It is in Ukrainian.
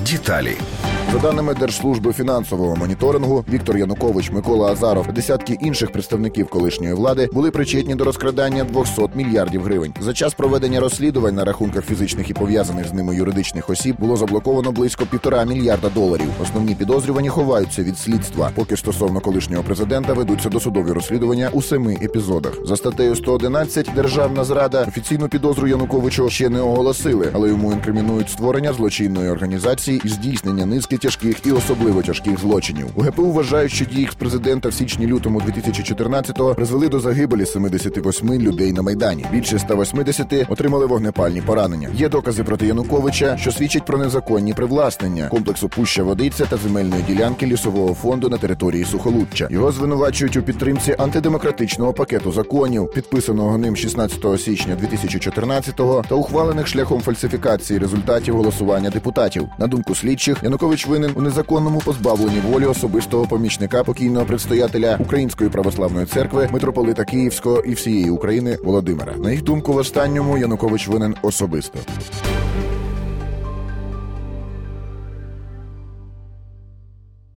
Деталі. За даними Держслужби фінансового моніторингу, Віктор Янукович, Микола Азаров та десятки інших представників колишньої влади були причетні до розкрадання 200 мільярдів гривень. За час проведення розслідувань на рахунках фізичних і пов'язаних з ними юридичних осіб було заблоковано близько $1,5 мільярда. Основні підозрювані ховаються від слідства, поки стосовно колишнього президента ведуться досудові розслідування у 7 епізодах. За статтею 111 «Державна зрада» офіційну підозру Януковичу ще не оголосили, але йому інкримінують створення злочинної організації і здійснення низки тяжких і особливо тяжких злочинів. У ГПУ вважають, що дії екс-президента в січні-лютому 2014-го призвели до загибелі 78 людей на Майдані. Більше 180 отримали вогнепальні поранення. Є докази проти Януковича, що свідчать про незаконні привласнення комплексу Пуща-Водиця та земельної ділянки лісового фонду на території Сухолуччя. Його звинувачують у підтримці антидемократичного пакету законів, підписаного ним 16 січня 2014-го та ухвалених шляхом фальсифікації результатів голосування депутатів. На думку слідчих, Янукович винен у незаконному позбавленні волі особистого помічника покійного предстоятеля Української православної церкви, митрополита Київського і всієї України Володимира. На їх думку, в останньому Янукович винен особисто.